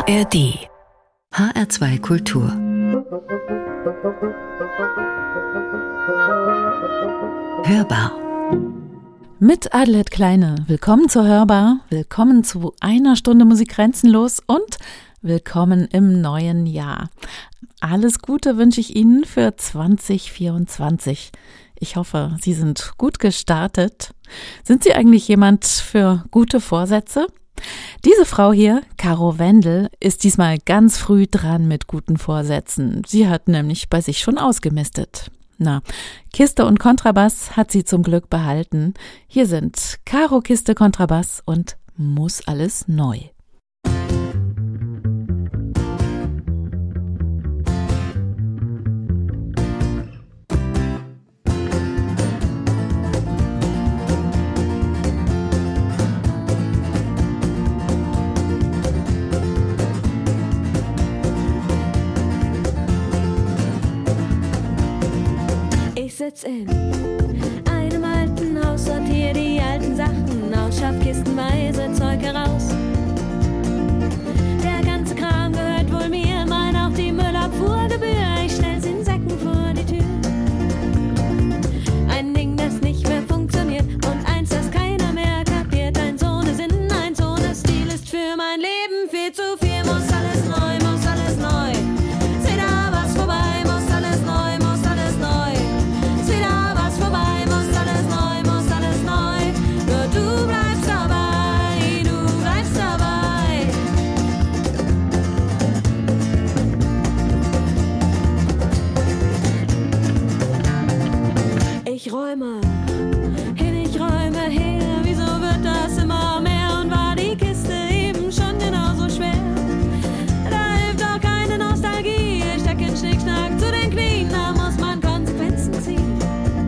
ARD HR2 Kultur Hörbar mit Adelheid Kleine. Willkommen zur Hörbar, willkommen zu einer Stunde Musik grenzenlos und willkommen im neuen Jahr. Alles Gute wünsche ich Ihnen für 2024. Ich hoffe, Sie sind gut gestartet. Sind Sie eigentlich jemand für gute Vorsätze? Diese Frau hier, Caro Wendel, ist diesmal ganz früh dran mit guten Vorsätzen. Sie hat nämlich bei sich schon ausgemistet. Na, Kiste und Kontrabass hat sie zum Glück behalten. Hier sind Caro, Kiste, Kontrabass und Muss alles neu. Ich sitz in einem alten Haus, sortier die alten Sachen aus, schaff kistenweise Zeug heraus. Der ganze Kram gehört wohl mir, mein auch die Müllabfuhrgebühr. Ich stell's in Säcken vor die Tür. Ein Ding, das nicht mehr funktioniert und eins, das keiner mehr kapiert. Ein so ne Sinn, ein so ne Stil ist für mein Leben viel zu viel. Muss alles neu, muss alles neu. Seh da was vorbei, muss alles neu, muss alles neu. Du bleibst dabei, du bleibst dabei. Ich räume hin, ich räume her. Wieso wird das immer mehr? Und war die Kiste eben schon genauso schwer? Da hilft doch keine Nostalgie. Ich steck in Schnickschnack zu den Knien. Da muss man Konsequenzen ziehen.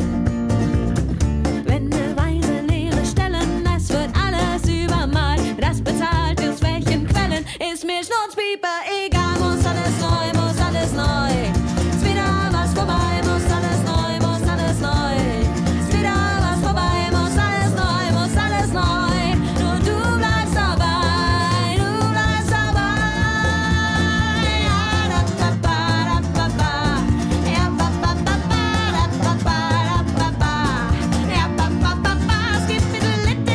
Wendeweise leere Stellen, es wird alles übermalt. Das bezahlt aus welchen Quellen? Ist mir Schnurzpieper egal. Muss alles neu, muss alles neu. Ist wieder was vorbei, muss alles neu, muss alles neu. Ist wieder was vorbei, muss alles neu, muss alles neu. Nur du bleibst dabei, du bleibst dabei. Ja, da ba ba da ba ba. Ja, ba ba ba ba da ba ba da ba ba. Ja, ba ba ba ba. Es gibt mir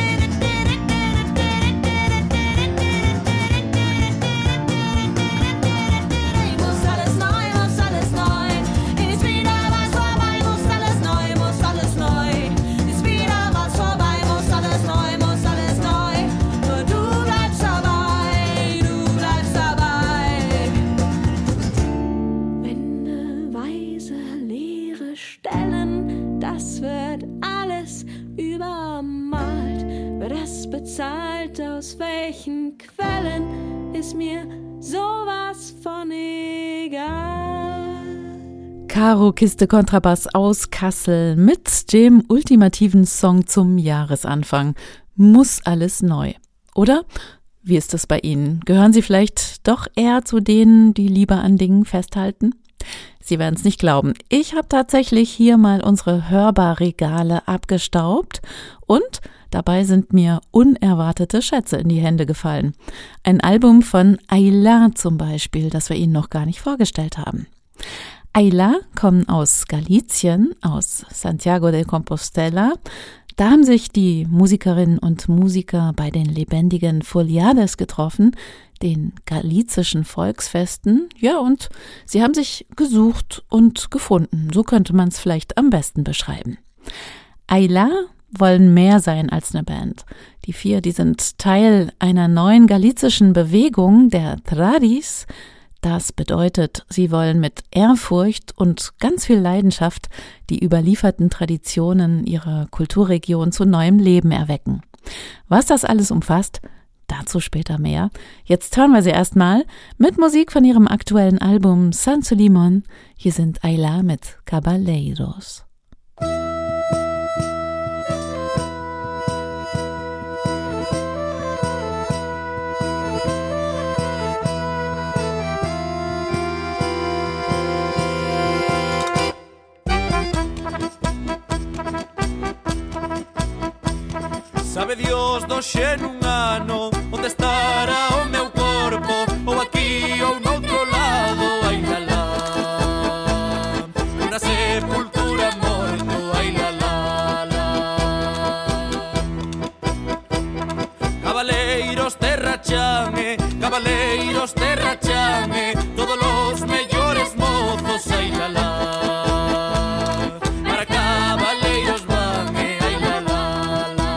muss alles neu, muss alles neu. Ist wieder was vorbei, muss alles neu, muss alles neu. Ist wieder was vorbei, muss alles neu, muss alles neu. Nur du bleibst dabei, du bleibst dabei. Wendeweise leere Stellen, das wird alles übermalt. Wer das bezahlt, aus welchen Quellen, ist mir sowas von egal. Caro, Kiste, Kontrabass aus Kassel mit dem ultimativen Song zum Jahresanfang. Muss alles neu. Oder? Wie ist das bei Ihnen? Gehören Sie vielleicht doch eher zu denen, die lieber an Dingen festhalten? Sie werden es nicht glauben. Ich habe tatsächlich hier mal unsere Hörbarregale abgestaubt und dabei sind mir unerwartete Schätze in die Hände gefallen. Ein Album von Ayla zum Beispiel, das wir Ihnen noch gar nicht vorgestellt haben. Ayla kommen aus Galizien, aus Santiago de Compostela. Da haben sich die Musikerinnen und Musiker bei den lebendigen Foliades getroffen, den galizischen Volksfesten. Ja, und sie haben sich gesucht und gefunden. So könnte man es vielleicht am besten beschreiben. Ayla wollen mehr sein als eine Band. Die vier, die sind Teil einer neuen galizischen Bewegung, der Tradis. Das bedeutet, sie wollen mit Ehrfurcht und ganz viel Leidenschaft die überlieferten Traditionen ihrer Kulturregion zu neuem Leben erwecken. Was das alles umfasst, dazu später mehr. Jetzt hören wir sie erstmal mit Musik von ihrem aktuellen Album San Sulimon. Hier sind Ayla mit Caballeiros. Sabe Dios do xe nun ano onde estará o meu corpo ou aquí Cabaleiros terrachame, todos los mellores mozos, ai la la. Para cabaleiros van, ai la la la.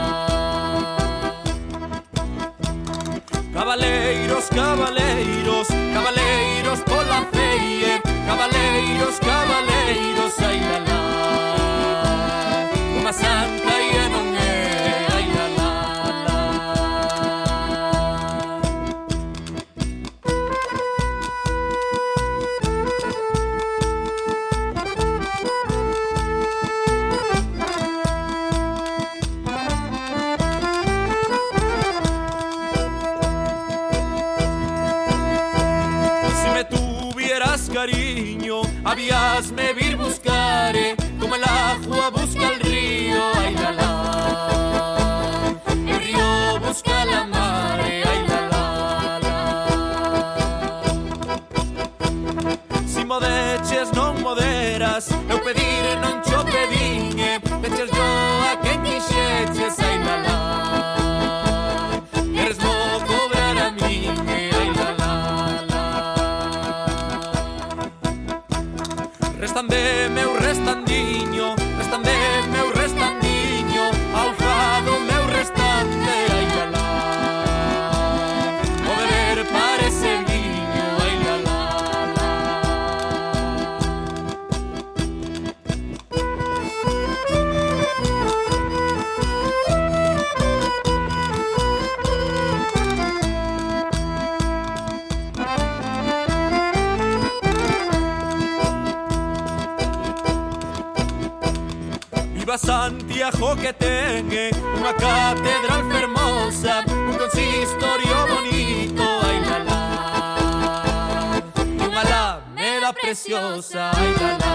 Cabaleiros pola feie, cabaleiros, ai la la. Unha santa e non é, ai la la la. Si me tuvieras cariño, habíasme vir buscare, como el agua busca el río, ay la la. El río busca la mare, ay la la la. Si modeches non moderas, eu pedir non cho pediñe, peches yo a quen quixeches, ay la la. Eres mo cobrar a min, ay la la la. Restan de meu restandiño, ao fado meu restante, ai la la. O beber parece viño, ai la la la. Viva Santiago que teñe unha catedral fermosa, un consistorio bonito, ai la la. E unha alameda preciosa, ai la la.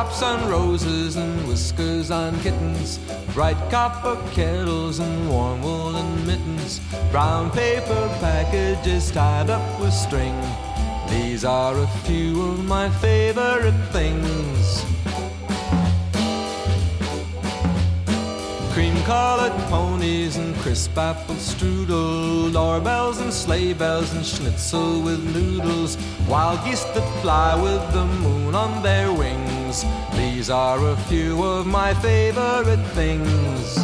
Raindrops on roses and whiskers on kittens, bright copper kettles and warm woolen mittens, brown paper packages tied up with string. These are a few of my favorite things. Cream-colored ponies and crisp apple strudel, doorbells and sleigh bells and schnitzel with noodles, wild geese that fly with the moon on their wings. These are a few of my favorite things.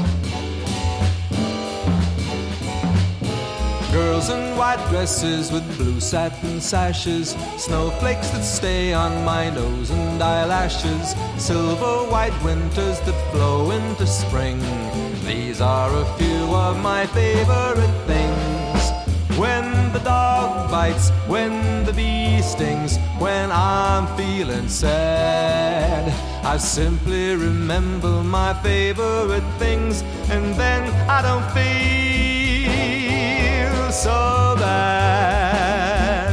Girls in white dresses with blue satin sashes, snowflakes that stay on my nose and eyelashes, silver white winters that flow into spring. These are a few of my favorite things. When the dog bites, when the bee stings, when I'm feeling sad, I simply remember my favorite things, and then I don't feel so bad.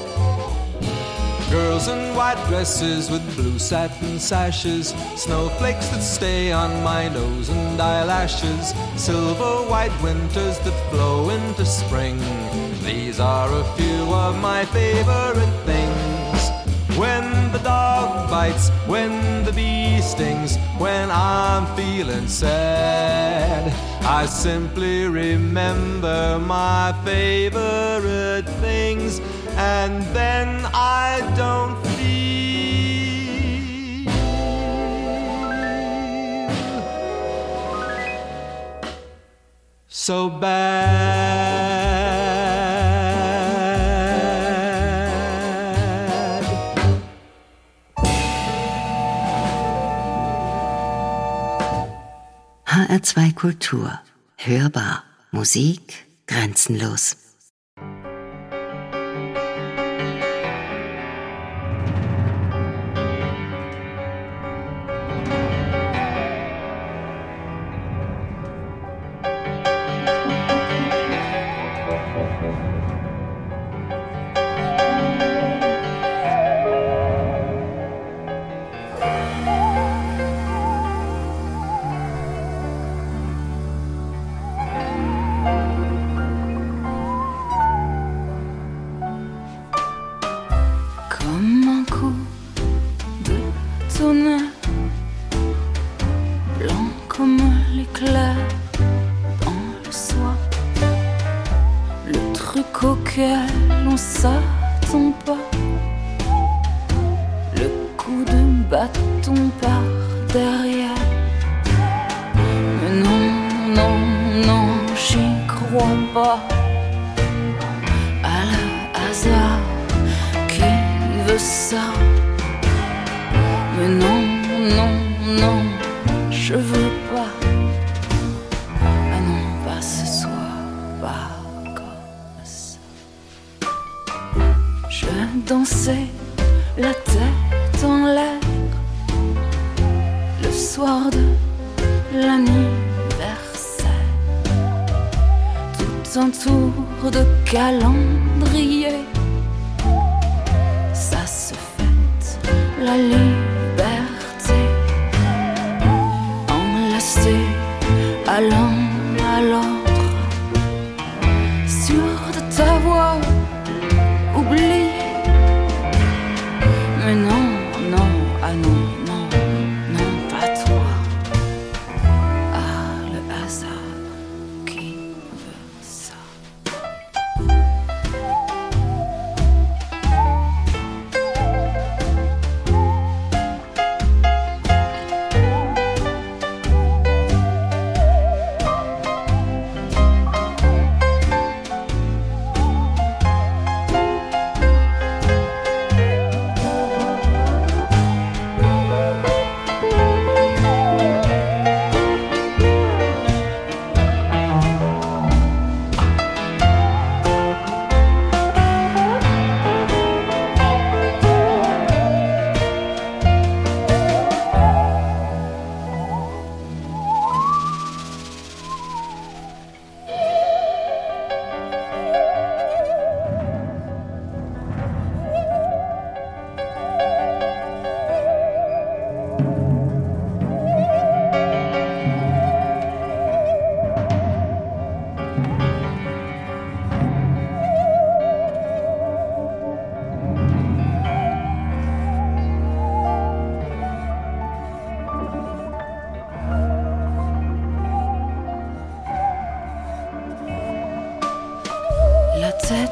Girls in white dresses with blue satin sashes, snowflakes that stay on my nose and eyelashes, silver white winters that flow into spring. These are a few of my favorite things. When the dog bites, when the bee stings, when I'm feeling sad, I simply remember my favorite things, and then I don't feel so bad. HR2 Kultur. Hörbar. Musik grenzenlos.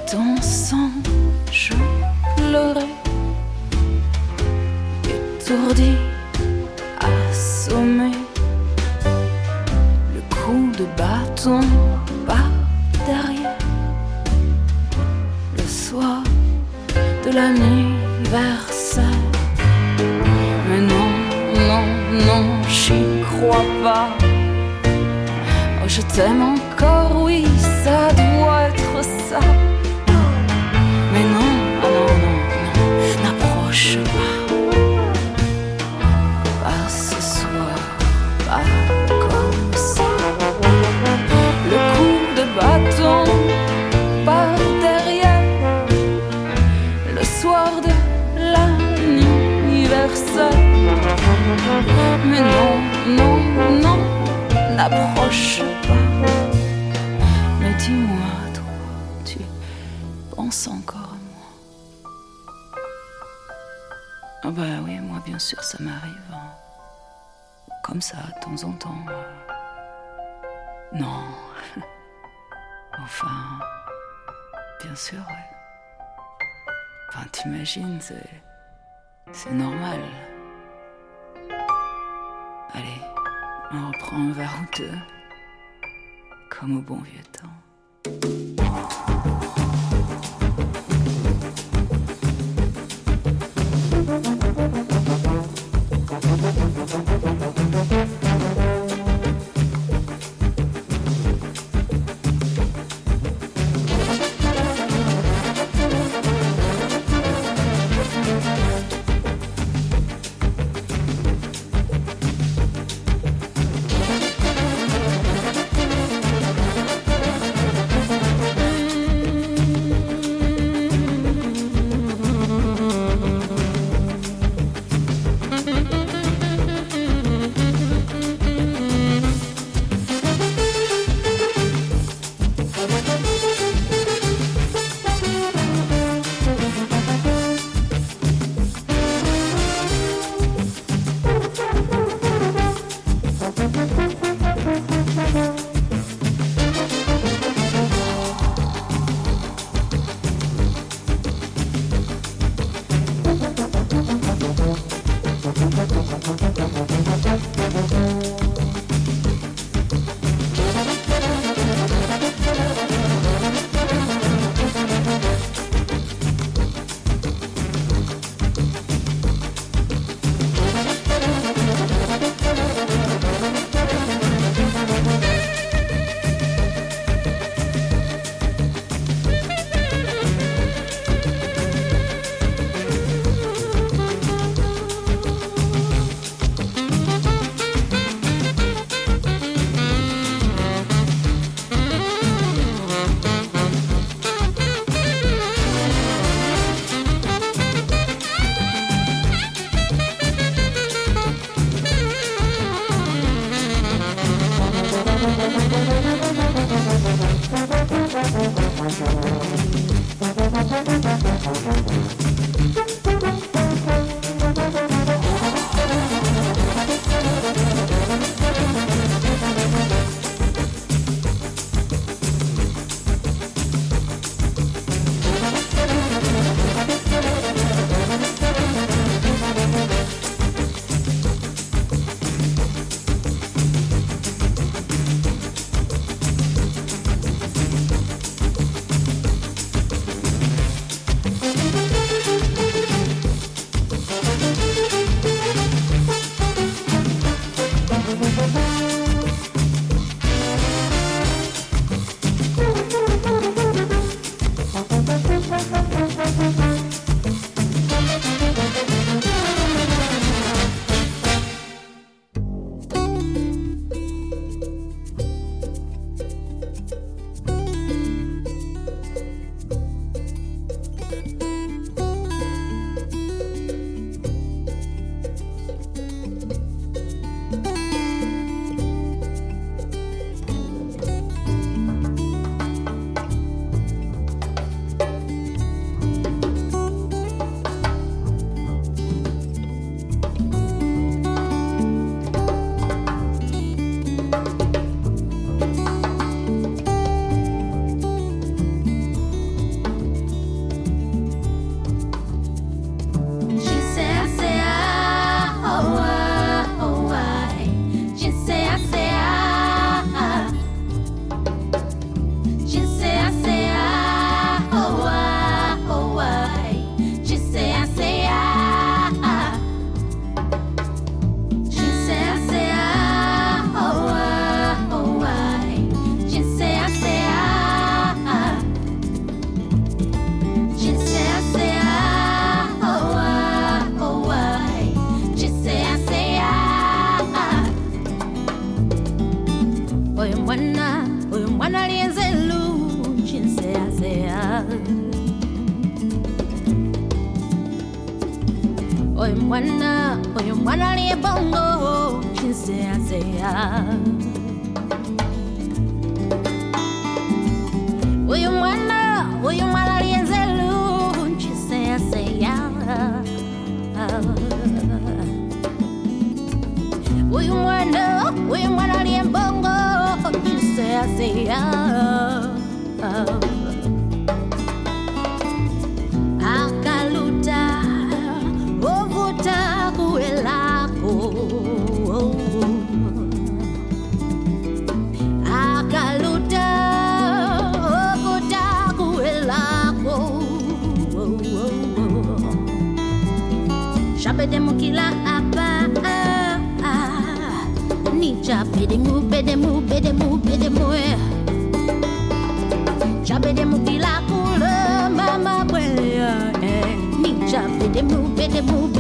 ton sang, je pleurais, étourdi, assommé. Le coup de bâton par derrière. Le soir de l'anniversaire. Mais non, non, non, j'y crois pas. Oh, je t'aime encore, oui, ça doit être ça. Mais non, oh non, non, non, n'approche pas. Pas ce soir, pas comme ça. Le coup de bâton par derrière. Le soir de l'anniversaire. Mais non, non, non, n'approche pas. Mais dis-moi, toi, tu penses encore à moi? Ah bah oui, moi bien sûr ça m'arrive. Hein. Comme ça, de temps en temps. Non. Enfin, bien sûr, ouais. Enfin, t'imagines, c'est normal. Allez, on reprend un verre ou deux, comme au bon vieux temps. mwana lienzelu chinsea Oy mwana liebongo chinsea Uyu mwana lienzelu chinsea Uyu mwana liembongo chinsea Akaluta ovuta kuelako Akaluta ovuta kuelako Chapedemu kila apa Ni chapedemu bedemu Chapedemu kila kula mama bwea Ni chapedemu bedemu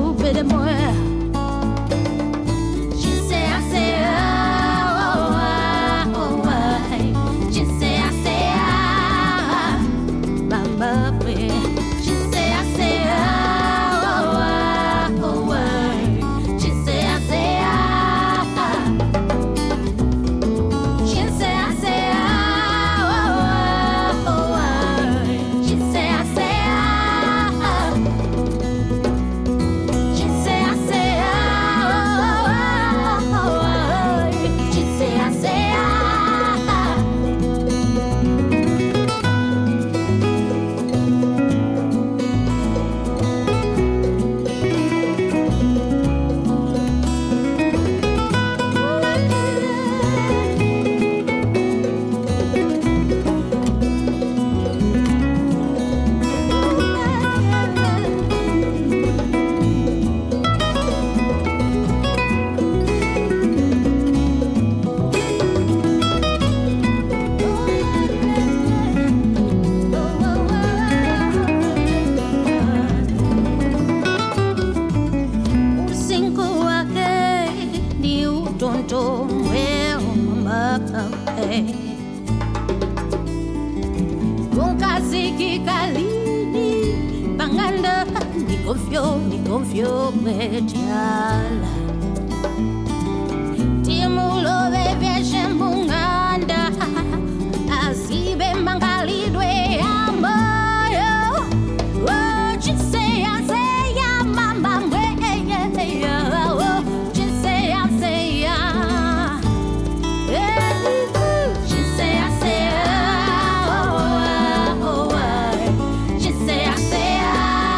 Ni confio mediala Timulo bebe shembunganda Asibe mangalidwe amoyo Chisea seya mama mwe Chisea seya Chisea seya Chisea seya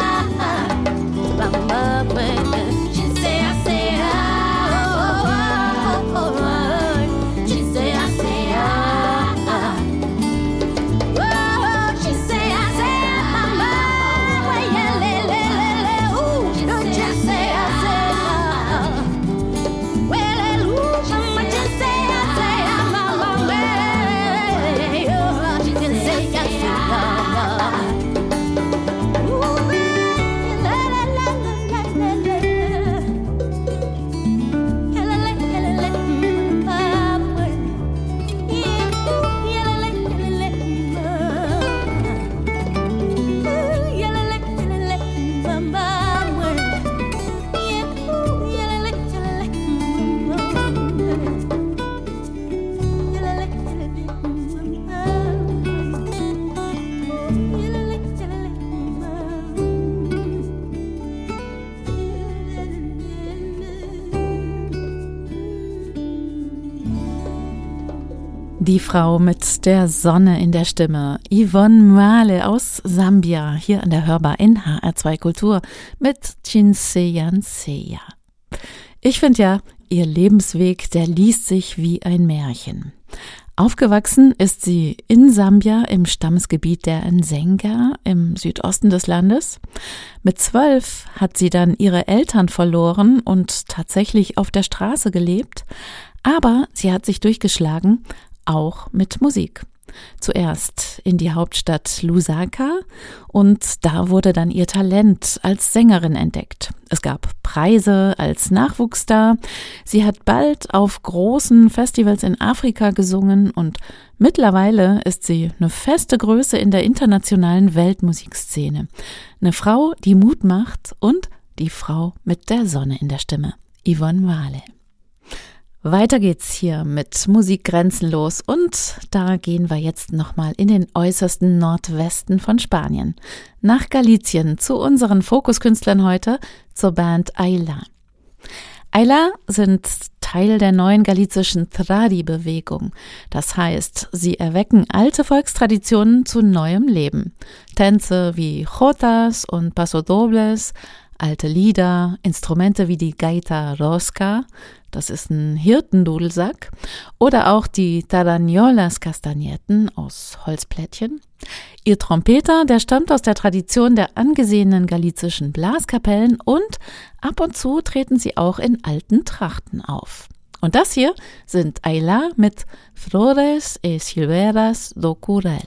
Die Frau mit der Sonne in der Stimme, Yvonne Mwale aus Sambia, hier an der Hörbar in HR2 Kultur mit Chinseya Nseya. Ich finde ja, ihr Lebensweg, der liest sich wie ein Märchen. Aufgewachsen ist sie in Sambia im Stammesgebiet der Nzenga im Südosten des Landes. Mit 12 hat sie dann ihre Eltern verloren und tatsächlich auf der Straße gelebt. Aber sie hat sich durchgeschlagen, auch mit Musik. Zuerst in die Hauptstadt Lusaka und da wurde dann ihr Talent als Sängerin entdeckt. Es gab Preise als Nachwuchsstar. Sie hat bald auf großen Festivals in Afrika gesungen und mittlerweile ist sie eine feste Größe in der internationalen Weltmusikszene. Eine Frau, die Mut macht und die Frau mit der Sonne in der Stimme. Yvonne Wale. Weiter geht's hier mit Musik grenzenlos und da gehen wir jetzt nochmal in den äußersten Nordwesten von Spanien. Nach Galicien zu unseren Fokuskünstlern heute, zur Band Ayla. Ayla sind Teil der neuen galizischen Tradi-Bewegung. Das heißt, sie erwecken alte Volkstraditionen zu neuem Leben. Tänze wie Jotas und Pasodobles, alte Lieder, Instrumente wie die Gaita Rosca, das ist ein Hirtendudelsack, oder auch die Tarañolas Castagnetten aus Holzplättchen. Ihr Trompeter, der stammt aus der Tradition der angesehenen galizischen Blaskapellen und ab und zu treten sie auch in alten Trachten auf. Und das hier sind Ayla mit Flores e Silveras do Curel.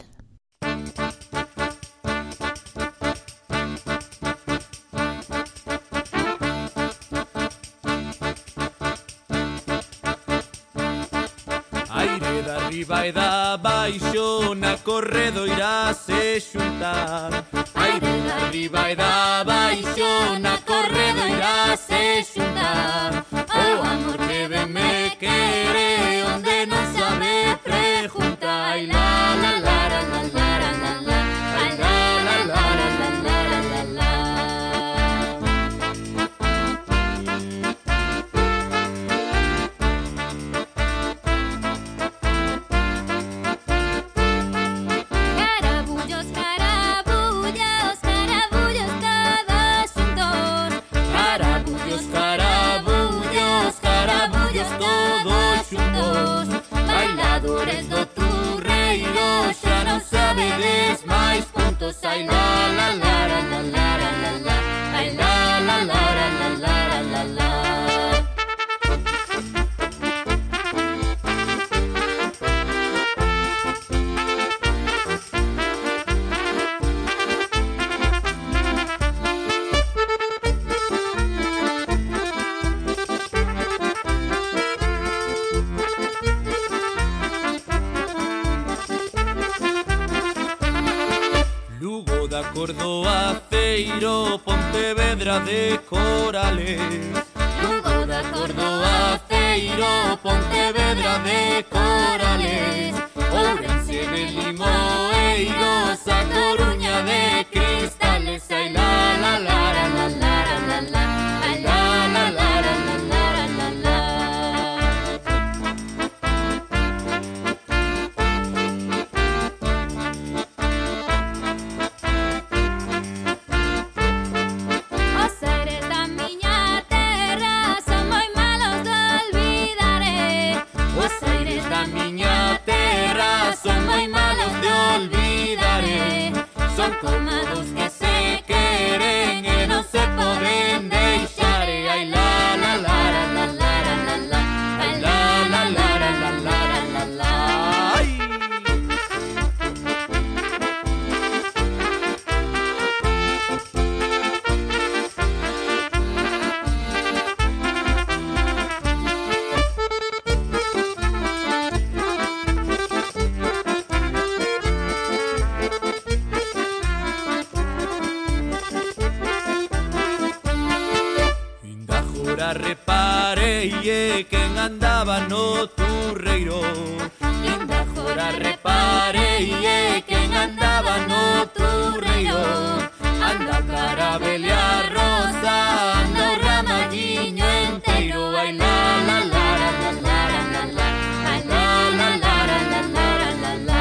Arriba e da baixo na corredoira se xuntar. Aire de arriba e da baixo na corredoira se xuntar. O amor que ben me quere onde non sabe preguntar. Ai la la la la la la la la. Ai la la la la la la la la. Bailadores do Turreiro xa non sabedes máis puntos. Ai la la la la la la la la. Ai la la la la la la la la. Córdoba, Feiro, Pontevedra de Corales. Lugo da Córdoba, Feiro, Pontevedra de Corales. Ourense de Limoeiros, a Coruña de Cristales. Ai la la la la la la la la. Ai la la la la la la la la. Son como dos que se queren e non se poden deixar. Ai la la la la la la la la. Ai la la la la la la la la. Reparei quen andaba no Turreiro. Linda jora reparei quen andaba no Turreiro. Anda carabelea rosa, anda o ramaguiño enteiro. Ai la la la la la la la. Ai la la la la la la la.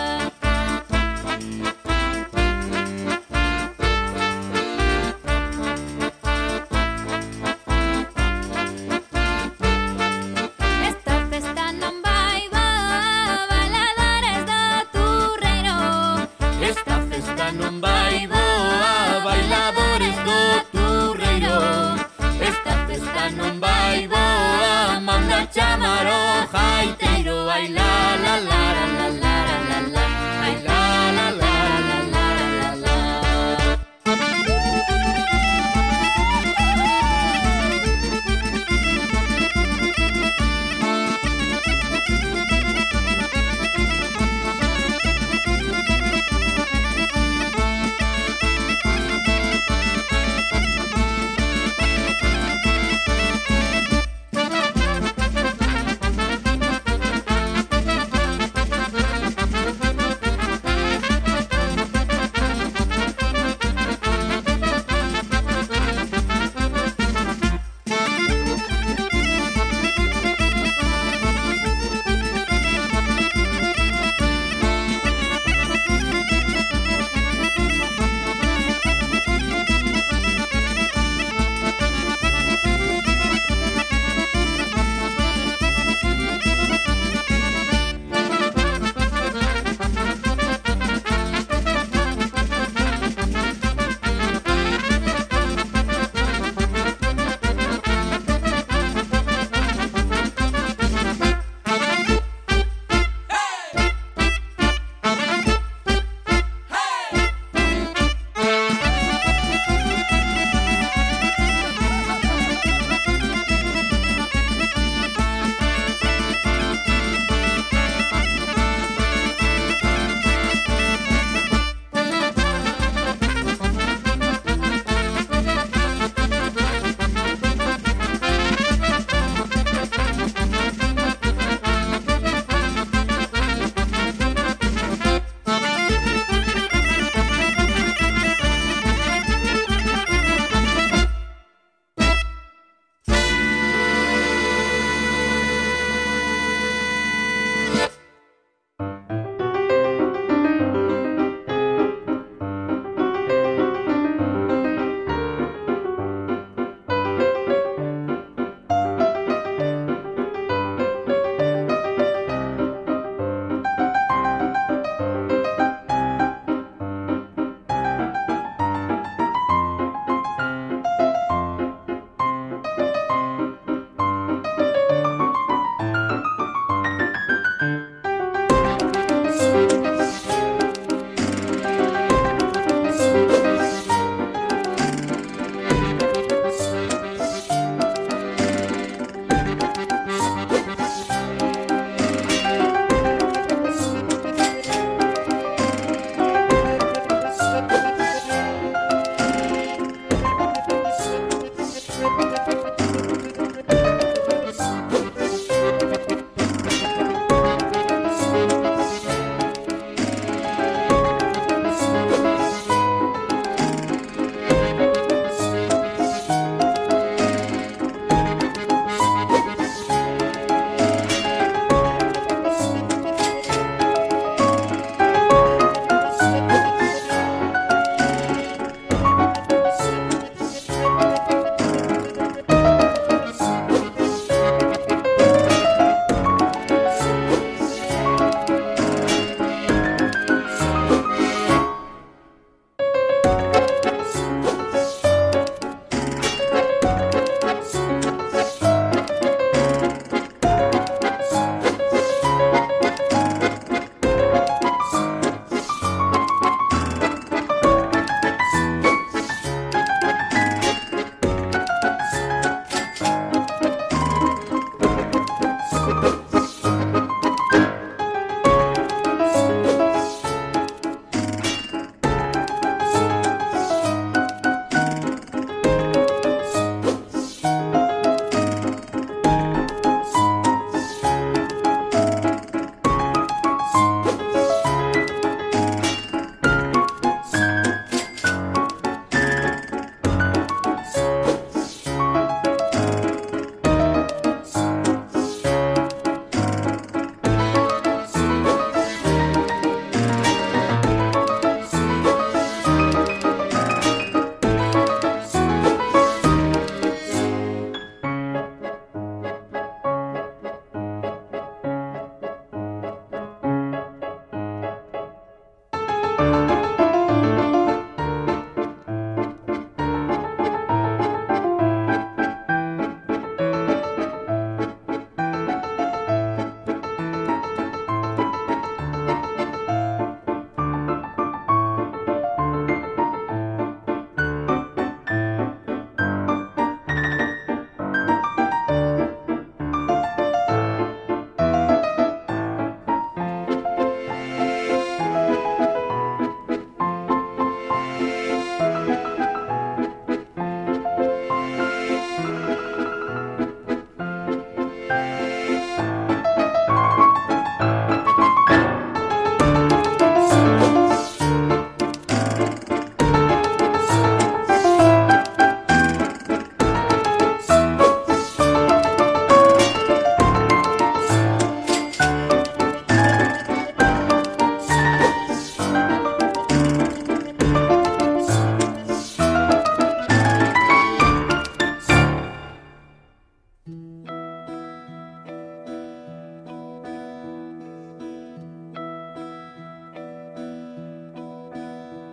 Non vai boa, bailadores do Turreiro. Esta festa non vai boa, manda chama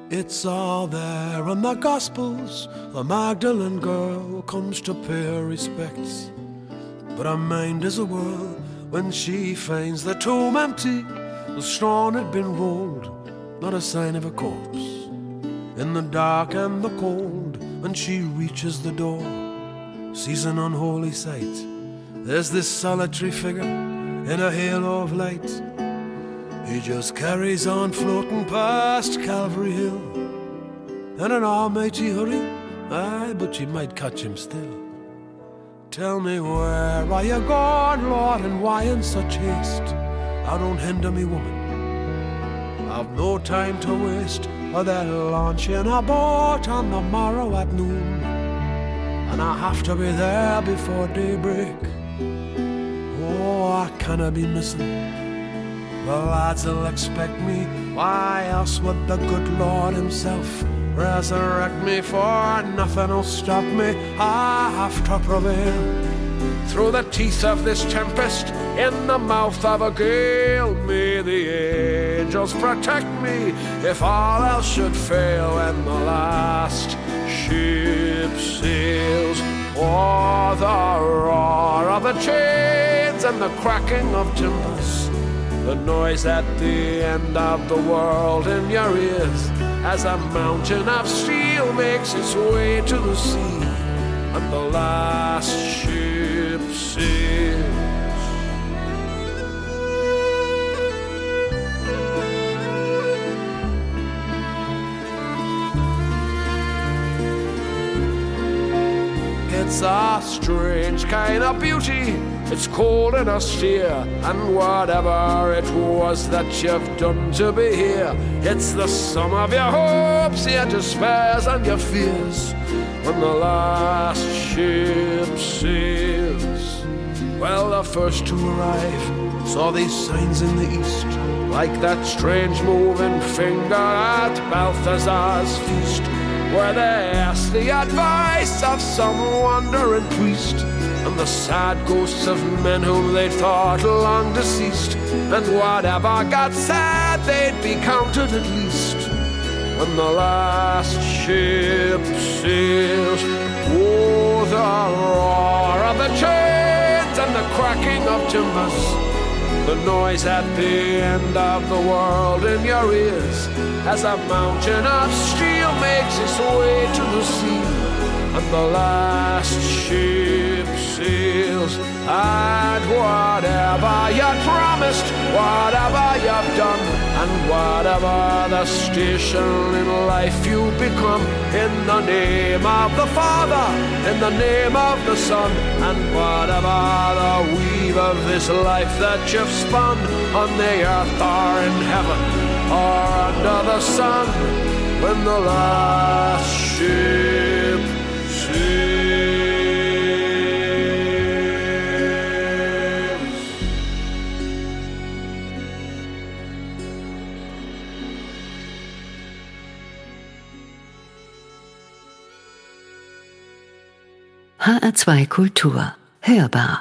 It's all there in the Gospels. The Magdalene girl comes to pay her respects, but her mind is a whirl when she finds the tomb empty. The stone had been rolled, not a sign of a corpse. In the dark and the cold, when she reaches the door, sees an unholy sight. There's this solitary figure in a halo of light. He just carries on floating past Calvary Hill in an almighty hurry. Aye, but you might catch him still. Tell me, where are you going, Lord, and why in such haste? Now don't hinder me, woman, I've no time to waste. Or they'll launch in a boat on the morrow at noon, and I have to be there before daybreak. Oh, I cannot be missing. The lads will expect me. Why else would the good Lord himself resurrect me? For nothing will stop me. I have to prevail through the teeth of this tempest, in the mouth of a gale. May the angels protect me if all else should fail, when the last ship sails. Oh, the roar of the chains and the cracking of timbers, the noise at the end of the world in your ears, as a mountain of steel makes its way to the sea, and the last ship sails. It's a strange kind of beauty. It's cold and austere, and whatever it was that you've done to be here, it's the sum of your hopes, your despairs, and your fears, when the last ship sails. Well, the first to arrive saw these signs in the east, like that strange moving finger at Balthazar's feast, where they asked the advice of some wandering priest, and the sad ghosts of men whom they thought long deceased, and whatever God said they'd be counted at least, when the last ship sails. Oh, the roar of the chains and the cracking of timbers, the noise at the end of the world in your ears, as a mountain of steel makes its way to the sea, and the last ship sails. And whatever you promised, whatever you've done, and whatever the station in life you become, in the name of the Father, in the name of the Son, and whatever the weave of this life that you've spun, on the earth or in heaven or under the sun, when the last ship sails. HR2 Kultur. Hörbar.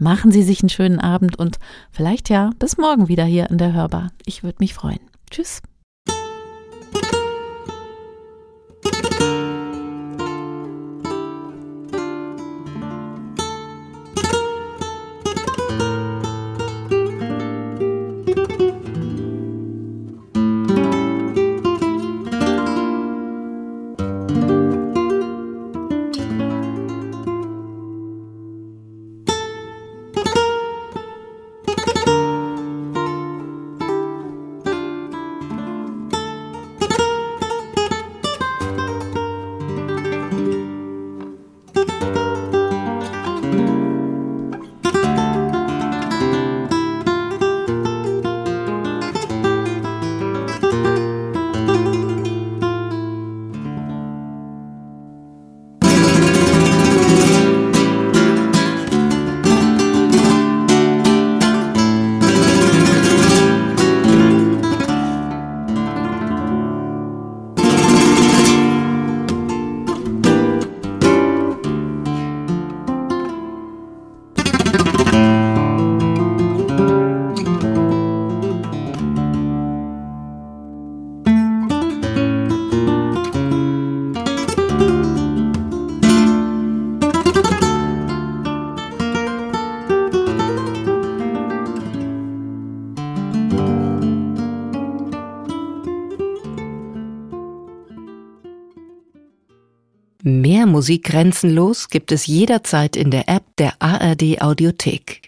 Machen Sie sich einen schönen Abend und vielleicht ja bis morgen wieder hier in der Hörbar. Ich würde mich freuen. Tschüss. Mehr Musik grenzenlos gibt es jederzeit in der App der ARD Audiothek.